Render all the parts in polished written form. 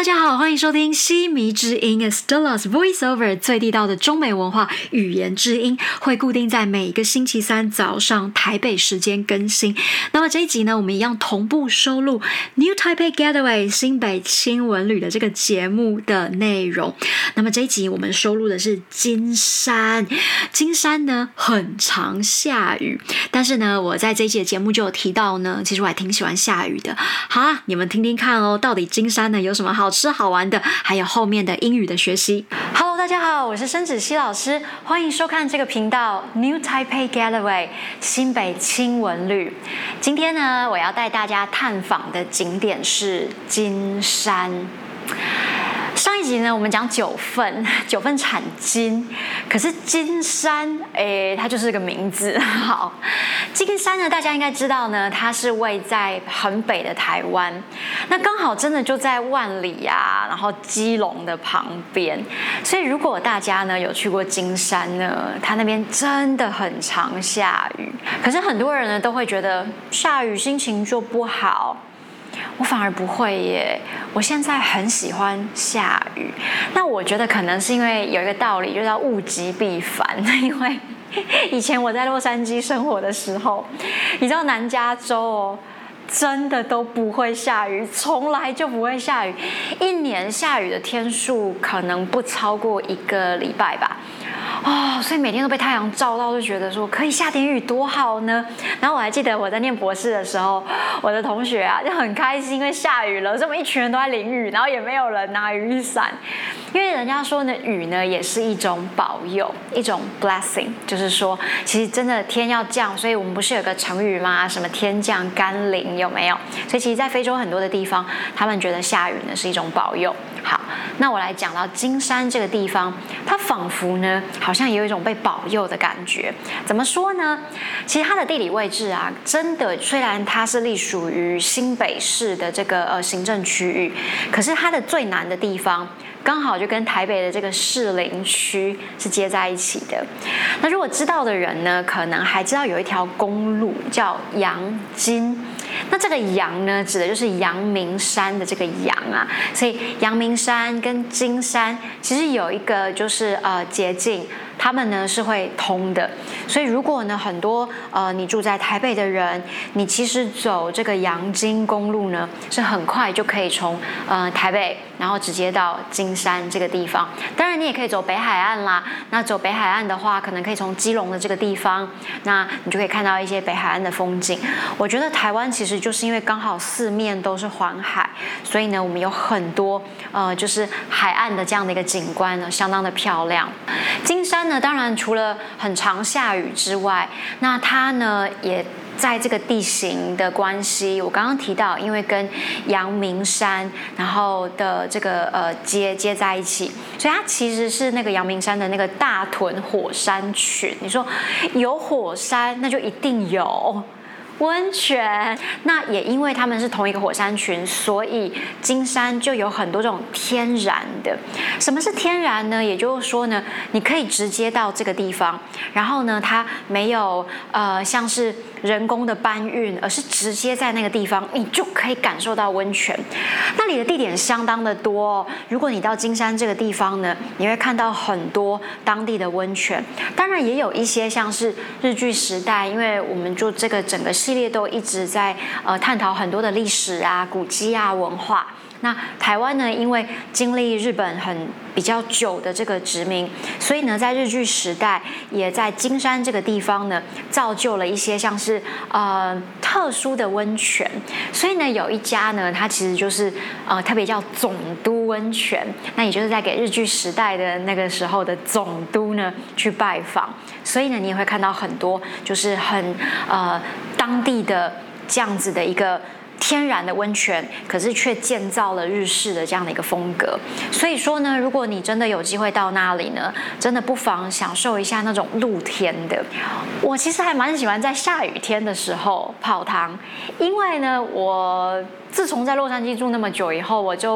大家好，欢迎收听西迷之音 Stella's Voiceover 最地道的中美文化语言之音，会固定在每个星期三早上台北时间更新。那么这一集呢，我们一样同步收录 New Taipei Getaway 新北轻文旅的这个节目的内容。那么这一集我们收录的是金山，金山呢很常下雨，但是呢，我在这一集的节目就有提到呢，其实我还挺喜欢下雨的。好啊，你们听听看哦，到底金山呢有什么好吃好玩的，还有后面的英语的学习。Hello， 大家好，我是申芷溪老师，欢迎收看这个频道 New Taipei Getaway 新北轻文旅。今天呢，我要带大家探访的景点是金山。上一集呢，我们讲九份产金，可是金山，它就是个名字。好，金山呢，大家应该知道呢，它是位在很北的台湾，那刚好真的就在万里啊，然后基隆的旁边。所以如果大家呢有去过金山呢，它那边真的很常下雨。可是很多人呢都会觉得下雨心情就不好。我反而不会耶，我现在很喜欢下雨。那我觉得可能是因为有一个道理，就叫物极必反。因为以前我在洛杉矶生活的时候，你知道南加州哦，真的都不会下雨，从来就不会下雨，一年下雨的天数可能不超过1个礼拜吧。所以每天都被太阳照到，就觉得说可以下点雨多好呢。然后我还记得我在念博士的时候，我的同学啊就很开心，因为下雨了，所以我们一群人都在淋雨，然后也没有人拿雨伞，因为人家说呢，雨呢也是一种保佑，一种 blessing， 就是说其实真的天要降，所以我们不是有个成语吗？什么天降甘霖，有没有？所以其实在非洲很多的地方，他们觉得下雨呢是一种保佑。好，那我来讲到金山这个地方，它仿佛呢好像有一种被保佑的感觉。怎么说呢？其实它的地理位置啊，真的虽然它是隶属于新北市的这个行政区域，可是它的最南的地方刚好就跟台北的这个士林区是接在一起的。那如果知道的人呢，可能还知道有一条公路叫阳金。那这个阳呢，指的就是阳明山的这个阳啊，所以阳明山跟金山其实有一个就是捷径，他们呢是会通的。所以如果呢很多你住在台北的人，你其实走这个阳金公路呢，是很快就可以从台北，然后直接到金山这个地方。当然你也可以走北海岸啦。那走北海岸的话，可能可以从基隆的这个地方，那你就可以看到一些北海岸的风景。我觉得台湾其实就是因为刚好四面都是环海，所以呢我们有很多就是海岸的这样的一个景观呢，相当的漂亮。金山呢，当然除了很常下雨之外，那它呢也在这个地形的关系，我刚刚提到，因为跟阳明山然后的这个接在一起，所以它其实是那个阳明山的那个大屯火山群。你说有火山，那就一定有温泉。那也因为他们是同一个火山群，所以金山就有很多这种天然的。什么是天然呢？也就是说呢，你可以直接到这个地方，然后呢，它没有像是人工的搬运，而是直接在那个地方，你就可以感受到温泉。那里的地点相当的多哦。如果你到金山这个地方呢，你会看到很多当地的温泉。当然也有一些像是日据时代，因为我们就这个整个系列都一直在探讨很多的历史啊、古迹啊、文化。那台湾呢，因为经历日本比较久的这个殖民，所以呢，在日据时代，也在金山这个地方呢，造就了一些像是特殊的温泉。所以呢，有一家呢，它其实就是特别叫总督温泉，那也就是在给日据时代的那个时候的总督呢去拜访。所以呢，你也会看到很多就是很当地的这样子的一个天然的温泉，可是却建造了日式的这样的一个风格。所以说呢，如果你真的有机会到那里呢，真的不妨享受一下那种露天的。我其实还蛮喜欢在下雨天的时候泡汤，因为呢，我自从在洛杉矶住那么久以后，我就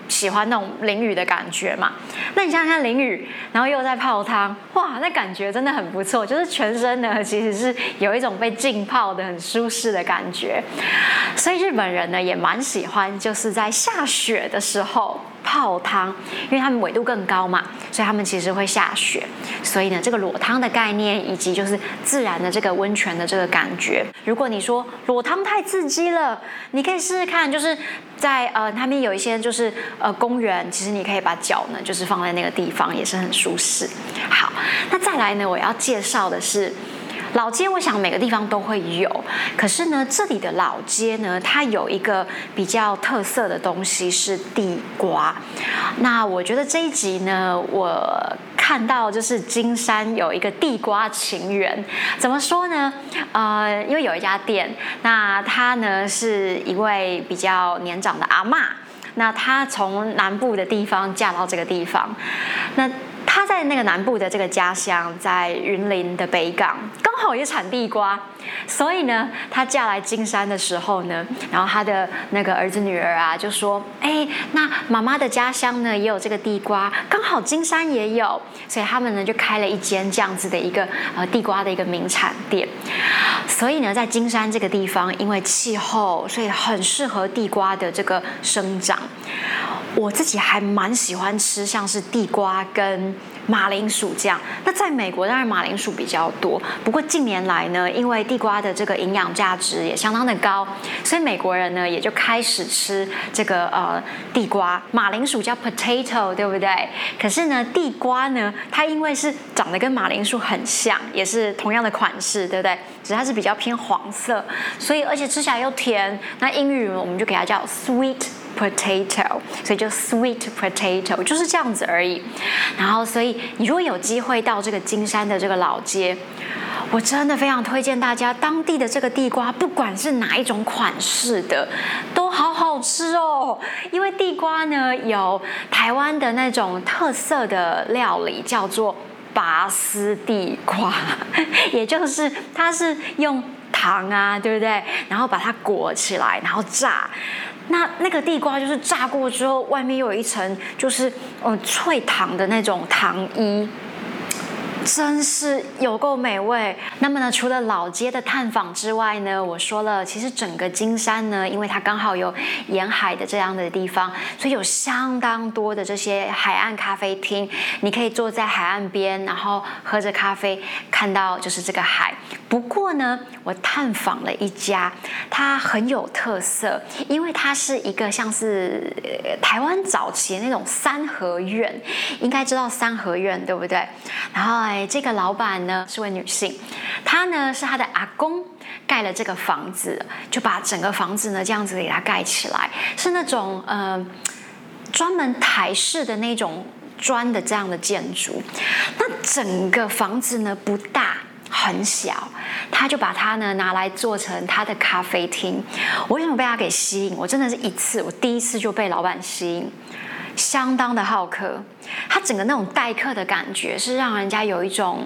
喜欢那种淋雨的感觉嘛。那你想想看，淋雨，然后又在泡汤，哇，那感觉真的很不错，就是全身呢其实是有一种被浸泡的很舒适的感觉。所以日本人呢也蛮喜欢，就是在下雪的时候泡汤，因为他们纬度更高嘛，所以他们其实会下雪。所以呢，这个裸汤的概念，以及就是自然的这个温泉的这个感觉，如果你说裸汤太刺激了，你可以试试看，就是在他们有一些就是公园，其实你可以把脚呢就是放在那个地方，也是很舒适。好，那再来呢，我要介绍的是。老街我想每个地方都会有，可是呢，这里的老街呢，它有一个比较特色的东西是地瓜。那我觉得这一集呢，我看到就是金山有一个地瓜情缘，怎么说呢？因为有一家店，那她呢是一位比较年长的阿嬷，那她从南部的地方嫁到这个地方，那。他在那个南部的这个家乡，在云林的北港，刚好也产地瓜，所以呢，他嫁来金山的时候呢，然后他的那个儿子女儿啊，就说：“哎，那妈妈的家乡呢也有这个地瓜，刚好金山也有，所以他们呢就开了一间这样子的一个地瓜的一个名产店。所以呢，在金山这个地方，因为气候，所以很适合地瓜的这个生长。我自己还蛮喜欢吃，像是地瓜跟马铃薯这样。那在美国当然马铃薯比较多，不过近年来呢，因为地瓜的这个营养价值也相当的高，所以美国人呢也就开始吃这个地瓜。马铃薯叫 potato， 对不对？可是呢，地瓜呢，它因为是长得跟马铃薯很像，也是同样的款式，对不对？只是它是比较偏黄色，所以而且吃起来又甜。那英语我们就给它叫 sweet。potato， 所以就 sweet potato 就是这样子而已。然后，所以你如果有机会到这个金山的这个老街，我真的非常推荐大家，当地的这个地瓜，不管是哪一种款式的，都好好吃哦。因为地瓜呢，有台湾的那种特色的料理，叫做拔丝地瓜，也就是它是用糖啊，对不对？然后把它裹起来，然后炸。那个地瓜就是炸过之后，外面又有一层就是脆糖的那种糖衣，真是有够美味。那么呢，除了老街的探访之外呢，我说了，其实整个金山呢，因为它刚好有沿海的这样的地方，所以有相当多的这些海岸咖啡厅，你可以坐在海岸边，然后喝着咖啡，看到就是这个海。不过呢，我探访了一家，它很有特色，因为它是一个像是台湾早期的那种三合院，应该知道三合院对不对？然后这个老板呢是位女性，她呢是她的阿公盖了这个房子，就把整个房子呢这样子给它盖起来，是那种专门台式的那种砖的这样的建筑。那整个房子呢不大。很小，他就把它呢拿来做成他的咖啡厅。我为什么被他给吸引？我真的是我第一次就被老板吸引，相当的好客。他整个那种待客的感觉是让人家有一种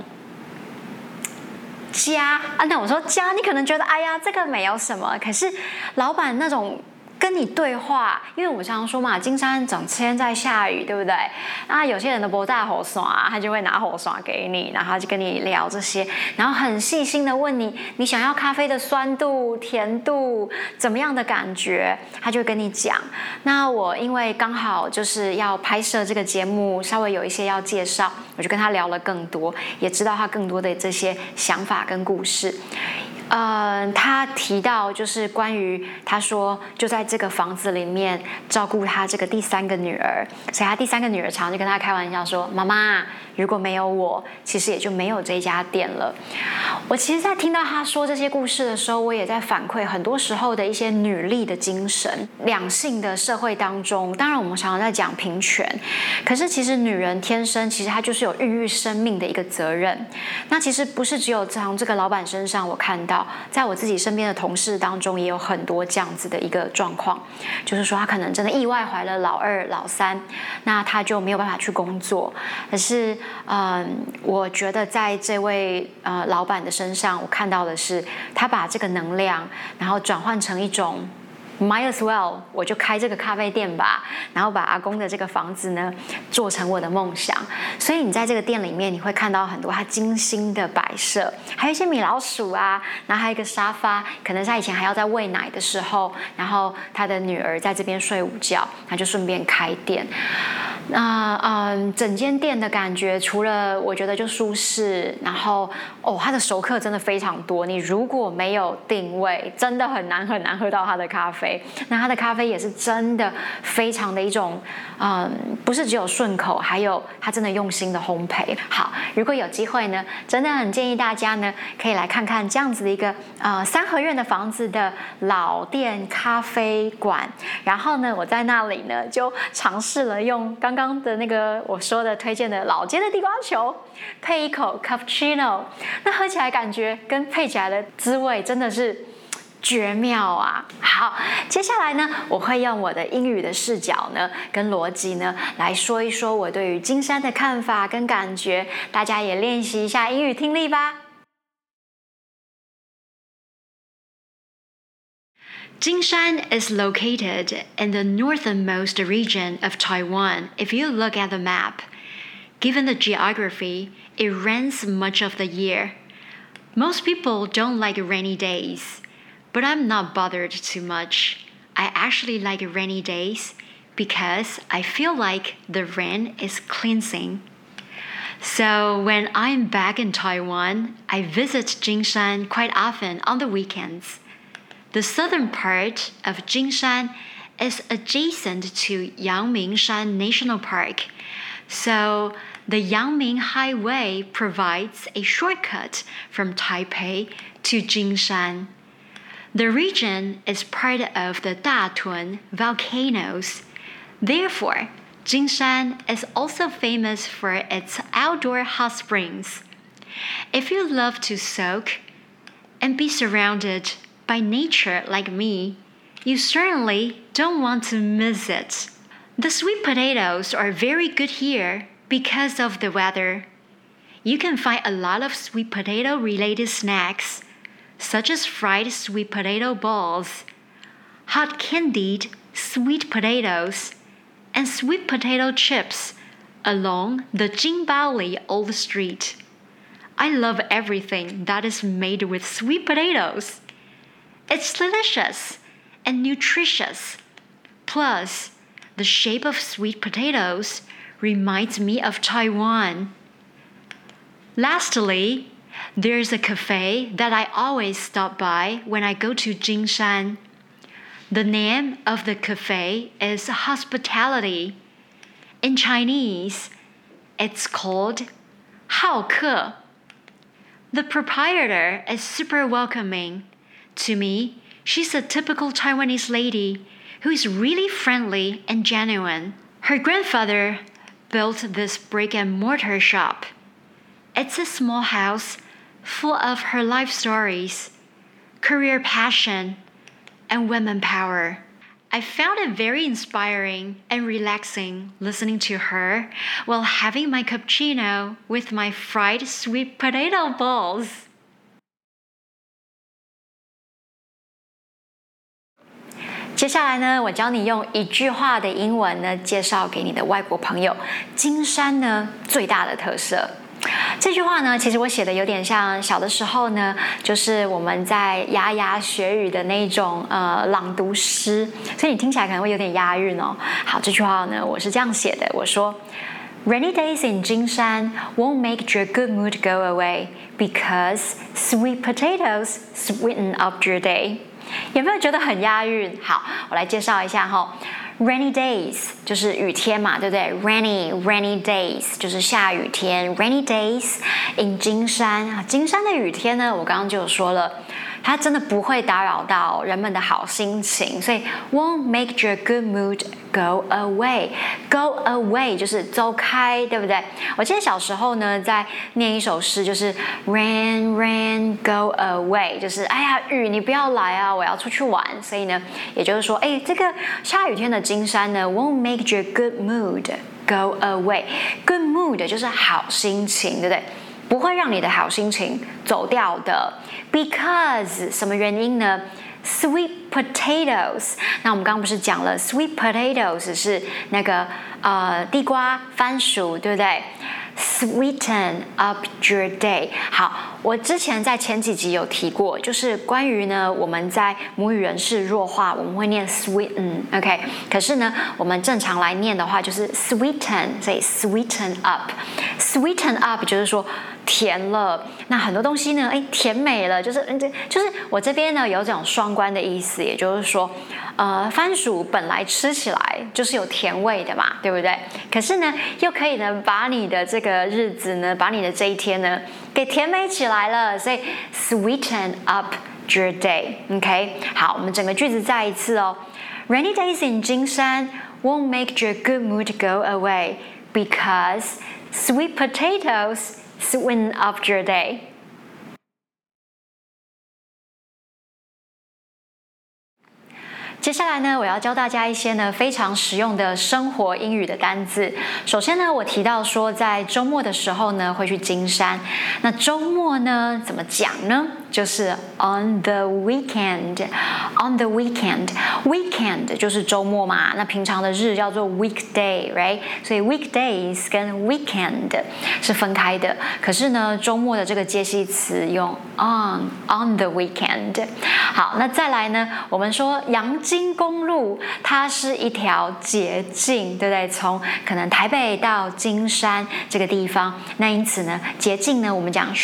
家啊。那我说家，你可能觉得哎呀这个没有什么，可是老板那种。跟你对话，因为我常常说嘛，金山整天在下雨，对不对？那有些人都不带火刷，他就会拿火刷给你，然后他就跟你聊这些，然后很细心的问你，你想要咖啡的酸度、甜度怎么样的感觉，他就会跟你讲。那我因为刚好就是要拍摄这个节目，稍微有一些要介绍，我就跟他聊了更多，也知道他更多的这些想法跟故事。他提到就是关于他说就在这个房子里面照顾他这个第三个女儿，所以他第三个女儿常就跟他开玩笑说：“妈妈，如果没有我，其实也就没有这家店了。”我其实，在听到他说这些故事的时候，我也在反馈很多时候的一些女力的精神。两性的社会当中，当然我们常常在讲平权，可是其实女人天生其实她就是有孕育生命的一个责任。那其实不是只有从这个老板身上我看到。在我自己身边的同事当中，也有很多这样子的一个状况，就是说他可能真的意外怀了老二、老三，那他就没有办法去工作。可是，我觉得在这位老板的身上，我看到的是他把这个能量，然后转换成一种 might as well 我就开这个咖啡店吧，然后把阿公的这个房子呢做成我的梦想。所以你在这个店里面，你会看到很多他精心的摆设，还有一些米老鼠啊，然后还有一个沙发，可能他以前还要在喂奶的时候，然后他的女儿在这边睡午觉，他就顺便开店。整间店的感觉，除了我觉得就舒适，然后他的熟客真的非常多。你如果没有定位，真的很难喝到他的咖啡。那他的咖啡也是真的非常的一种，不是只有顺口，还有他真的用心的烘焙。好，如果有机会呢，真的很建议大家呢，可以来看看这样子的一个三合院的房子的老店咖啡馆。然后呢，我在那里呢就尝试了用刚刚的那个我说的推荐的老街的地瓜球配一口 cappuccino， 那喝起来感觉跟配起来的滋味真的是绝妙啊！好，接下来呢，我会用我的英语的视角呢，跟逻辑呢，来说一说我对于金山的看法跟感觉，大家也练习一下英语听力吧。Jinshan is located in the northernmost region of Taiwan if you look at the map. Given the geography, it rains much of the year. Most people don't like rainy days, but I'm not bothered too much. I actually like rainy days because I feel like the rain is cleansing. So when I'm back in Taiwan, I visit Jinshan quite often on the weekends. The southern part of Jinshan is adjacent to Yangmingshan National Park, so the Yangming Highway provides a shortcut from Taipei to Jinshan. The region is part of the Datun volcanoes. Therefore, Jinshan is also famous for its outdoor hot springs. If you love to soak and be surrounded by nature like me, you certainly don't want to miss it. The sweet potatoes are very good here because of the weather. You can find a lot of sweet potato related snacks, such as fried sweet potato balls, hot candied sweet potatoes, and sweet potato chips along the Jinbaoli Old Street. I love everything that is made with sweet potatoes. It's delicious and nutritious. Plus, the shape of sweet potatoes reminds me of Taiwan. Lastly, there's a cafe that I always stop by when I go to Jinshan. The name of the cafe is Hospitality. In Chinese, it's called Haoke. The proprietor is super welcoming. To me, she's a typical Taiwanese lady who is really friendly and genuine. Her grandfather built this brick and mortar shop. It's a small house full of her life stories, career passion, and women power. I found it very inspiring and relaxing listening to her while having my cappuccino with my fried sweet potato balls. 接下来呢，我教你用一句话的英文呢，介绍给你的外国朋友金山呢最大的特色。这句话呢，其实我写的有点像小的时候呢，就是我们在牙牙学语的那种朗读诗，所以你听起来可能会有点押韵哦。好，这句话呢，我是这样写的，我说 Rainy days in Jinshan won't make your good mood go away because sweet potatoes sweeten up your day. 有没有觉得很押韵？好，我来介绍一下哈。Rainy days 就是雨天嘛，对不对 ？Rainy days 就是下雨天。Rainy days in 金山啊，金山的雨天呢，我刚刚就有说了，它真的不会打扰到人们的好心情，所以 won't make your good mood go away。Go away 就是走开，对不对？我记得小时候呢，在念一首诗，就是 Rain go away， 就是哎呀雨你不要来啊，我要出去玩。所以呢，也就是说，哎，这个下雨天的金山呢 ，won't make your good mood go away。Good mood 就是好心情，对不对？不会让你的好心情走掉的 ，because 什么原因呢 sweet potatoes。那我们刚刚不是讲了 sweet potatoes 是那个地瓜、番薯，对不对？Sweeten up your day。好，我之前在前几集有提过，就是关于呢我们在母语人士弱化，我们会念 sweeten，OK？可是呢，我们正常来念的话就是 sweeten，所以 sweeten up。sweeten up 就是说甜了，那很多东西呢，甜美了，就是我这边呢有这种双关的意思，也就是说，番薯本来吃起来就是有甜味的嘛，对不对？可是呢，又可以呢把你的这个日子呢，把你的这一天呢给甜美起来了，所以 sweeten up your day，OK？好，我们整个句子再一次哦。Rainy days in 金山 won't make your good mood go away because sweet potatoes sweeten up your day。接下来呢，我要教大家一些呢非常实用的生活英语的单字。首先呢，我提到说在周末的时候呢会去金山。那周末呢怎么讲呢？就是 on the weekend。on the weekend，weekend 就是周末嘛。那平常的日叫做 weekday，right？ 所以 weekdays 跟 weekend 是分开的。可是呢，周末的这个介系词用 on the weekend。好，那再来呢，我们说阳金公路它是一条捷径，对不对？从可能台北到金山这个地方，那因此呢，捷径呢我们讲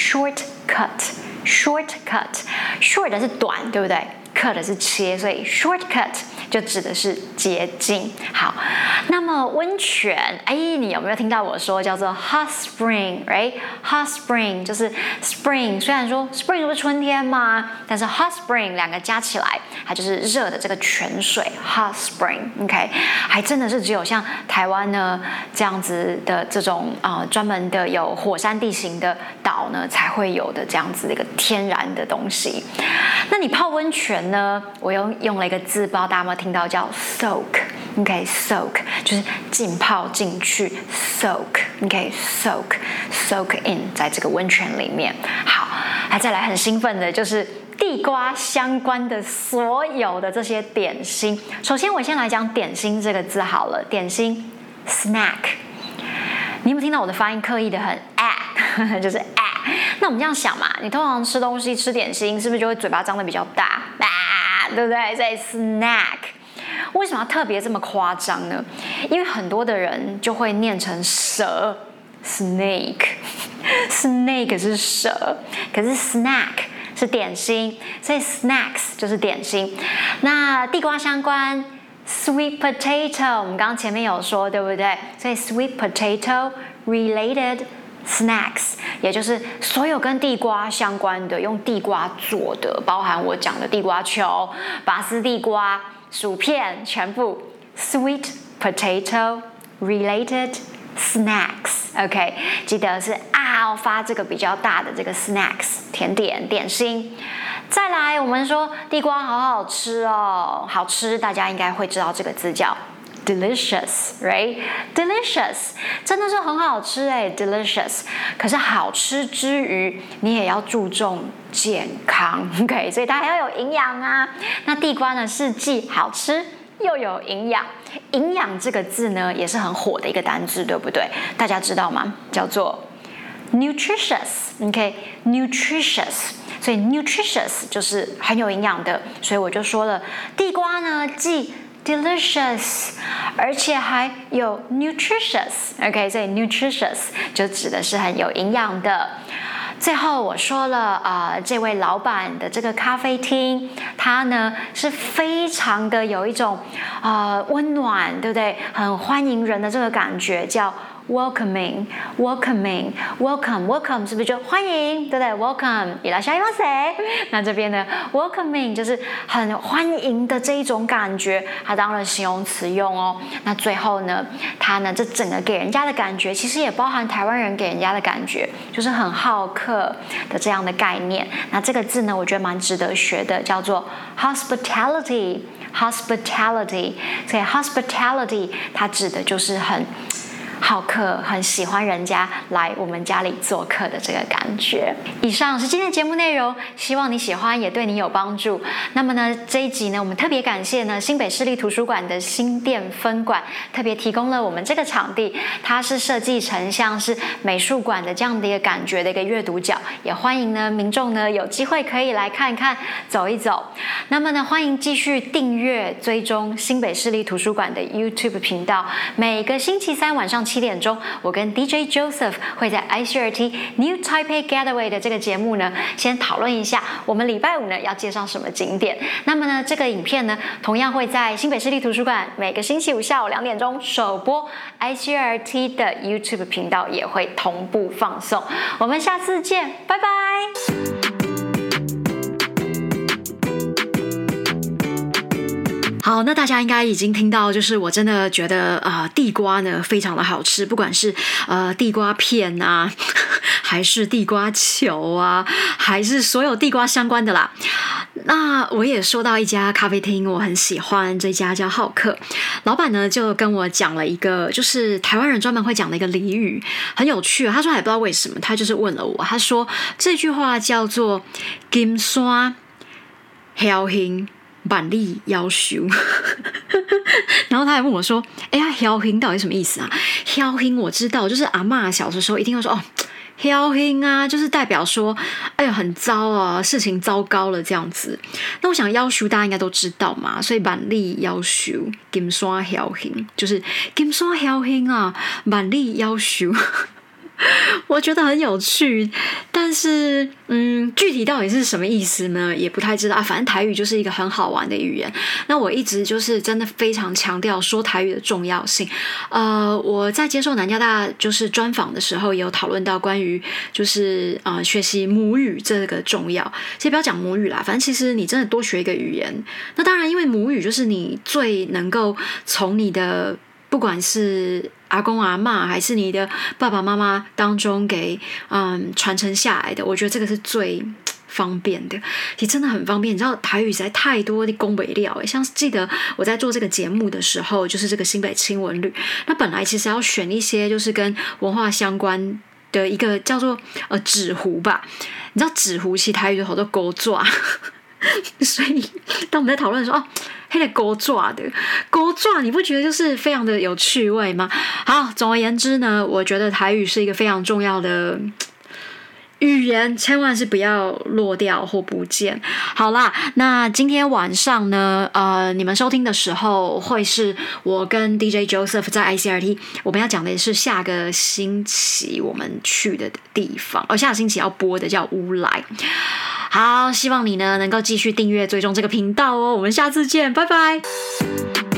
shortcut。short 是短，对不对？cut 是切，所以 shortcut 就指的是捷径。好，那么温泉，你有没有听到我说叫做 hot spring，right？hot spring 就是 spring， 虽然说 spring 不是春天吗？但是 hot spring 两个加起来，它就是热的这个泉水 hot spring。OK， 还真的是只有像台湾呢这样子的这种专门的有火山地形的岛呢才会有的这样子的一个天然的东西。那你泡温泉呢？我用了一个字，不知道大家有没有听到，叫 soak。OK，soak 就是浸泡进去 ，soak。OK，soak in 在这个温泉里面。好，再来很兴奋的就是地瓜相关的所有的这些点心。首先，我先来讲点心这个字好了，点心 snack。你有没有听到我的发音刻意的很就是？那我们这样想嘛，你通常吃东西吃点心，是不是就会嘴巴张得比较大对不对？所以 snack 为什么要特别这么夸张呢？因为很多的人就会念成蛇 snake 是蛇，可是 snack 是点心，所以 snacks 就是点心。那地瓜相关 sweet potato， 我们刚刚前面有说，对不对？所以 sweet potato related snacks 也就是所有跟地瓜相关的，用地瓜做的，包含我讲的地瓜球、拔丝地瓜、薯片，全部 sweet potato related snacks。OK， 记得是发这个比较大的这个 snacks 甜点点心。再来，我们说地瓜好好吃哦，好吃，大家应该会知道这个字叫delicious， right？ delicious 真的是很好吃delicious。可是好吃之余，你也要注重健康 ，OK？ 所以它还要有营养啊。那地瓜呢，是既好吃又有营养。营养这个字呢，也是很火的一个单字，对不对？大家知道吗？叫做 nutritious，OK？nutritious。所以 nutritious 就是很有营养的，所以我就说了，地瓜呢既delicious， 而且还有 nutritious，OK？ 所以 nutritious 就指的是很有营养的。最后我说了这位老板的这个咖啡厅，它呢是非常的有一种温暖，对不对？很欢迎人的这个感觉，叫welcome 是不是就欢迎，对不对 ？welcome いらっしゃいませ。那这边呢 welcoming 就是很欢迎的这一种感觉，它当然形容词用哦。那最后呢，它呢这整个给人家的感觉，其实也包含台湾人给人家的感觉，就是很好客的这样的概念。那这个字呢，我觉得蛮值得学的，叫做 hospitality。所以 hospitality 它指的就是很好客，很喜欢人家来我们家里做客的这个感觉。以上是今天的节目内容，希望你喜欢，也对你有帮助。那么呢，这一集呢，我们特别感谢呢新北市立图书馆的新店分馆，特别提供了我们这个场地，它是设计成像是美术馆的这样的一个感觉的一个阅读角，也欢迎呢民众呢有机会可以来看看、走一走。那么呢，欢迎继续订阅追踪新北市立图书馆的 YouTube 频道。每个星期三晚上7点钟，我跟 DJ Joseph 会在 ICRT New Taipei Getaway 的这个节目呢，先讨论一下我们礼拜五呢要介绍什么景点。那么呢，这个影片呢，同样会在新北市立图书馆每个星期五下午2点钟首播 ，ICRT 的 YouTube 频道也会同步放送。我们下次见，拜拜。好，那大家应该已经听到，就是我真的觉得地瓜呢非常的好吃，不管是地瓜片啊，还是地瓜球啊，还是所有地瓜相关的啦。那我也说到一家咖啡厅，我很喜欢，这家叫好客。老板呢就跟我讲了一个，就是台湾人专门会讲的一个俚语，很有趣。他说还不知道为什么，他就是问了我，他说这句话叫做“金山挑兴”。板栗要求，然后他还问我说：“哎呀，挑兴到底什么意思啊？挑兴我知道，就是阿嬷小的时候一定会说哦，挑兴啊，就是代表说，哎呀，很糟啊，事情糟糕了这样子。那我想要求大家应该都知道嘛，所以板栗要求，金山挑兴，就是金山挑兴啊，板栗要求。”我觉得很有趣，但是具体到底是什么意思呢？也不太知道啊。反正台语就是一个很好玩的语言。那我一直就是真的非常强调说台语的重要性。我在接受南加大就是专访的时候，也有讨论到关于就是学习母语这个重要。其实不要讲母语啦，反正其实你真的多学一个语言。那当然，因为母语就是你最能够从你的不管是阿公阿嬷还是你的爸爸妈妈当中给传承下来的，我觉得这个是最方便的，其实真的很方便。你知道台语实在太多的工北料，像记得我在做这个节目的时候，就是这个新北轻文旅，那本来其实要选一些就是跟文化相关的一个叫做纸糊吧，你知道纸糊其实台语有好多勾爪。所以当我们在讨论说黑的勾爪的勾爪，你不觉得就是非常的有趣味吗？好，总而言之呢，我觉得台语是一个非常重要的语言，千万是不要落掉或不见。好啦，那今天晚上呢，你们收听的时候会是我跟 DJ Joseph 在 ICRT， 我们要讲的是下个星期我们去的地方，下个星期要播的叫乌来。好，希望你呢能够继续订阅追踪这个频道哦，我们下次见，拜拜。